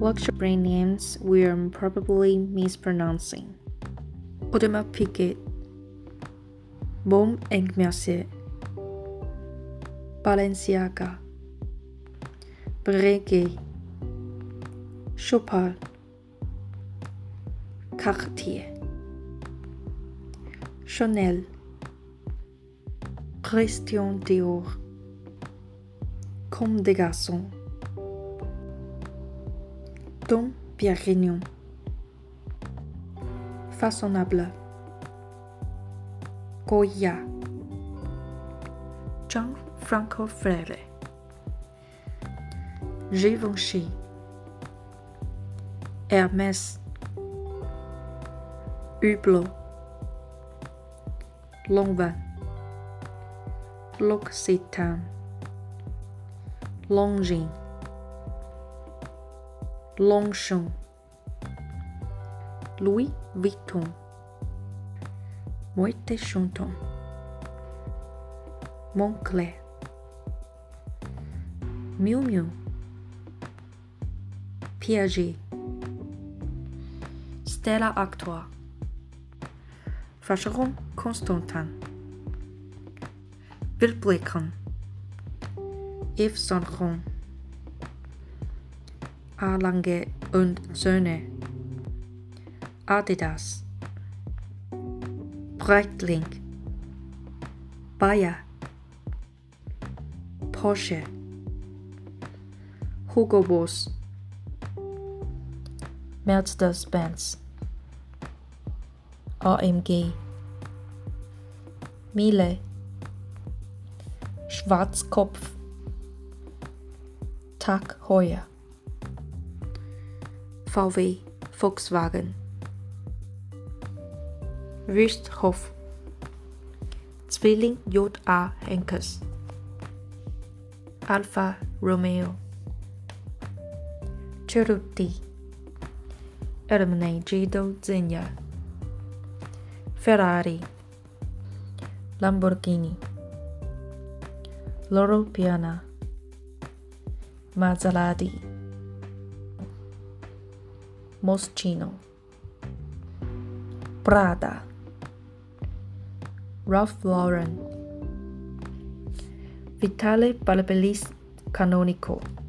Luxury brand names we are probably mispronouncing. Audemars Piguet, Baume & Mercier, Balenciaga, Breguet, Chopard, Cartier, Chanel, Christian Dior, Comme des Garçons, Dom Pérignon, Façonnable, Goya, Gianfranco Ferré, Givenchy, Hermès, Hublot, Lanvin, L'Occitane, Longines, Longchamp, Louis Vuitton, Moet et Chandon, Moncler, Miu Miu, Piaget, Stella Artois, Vacheron Constantin, Vilebrequin, Yves Saint Laurent, A. Lange und Söhne, Adidas, Breitling, Bayer, Porsche, Hugo Boss, Mercedes-Benz, AMG, Miele, Schwarzkopf, Tag Heuer, VW, Volkswagen, Wüsthof, Zwilling J.A. Henkes, Alfa Romeo, Cerruti, Ermenegildo Zegna, Ferrari, Lamborghini, Loro Piana, Maserati, Moschino, Prada, Ralph Lauren, Vitale Ballabellis Canonico.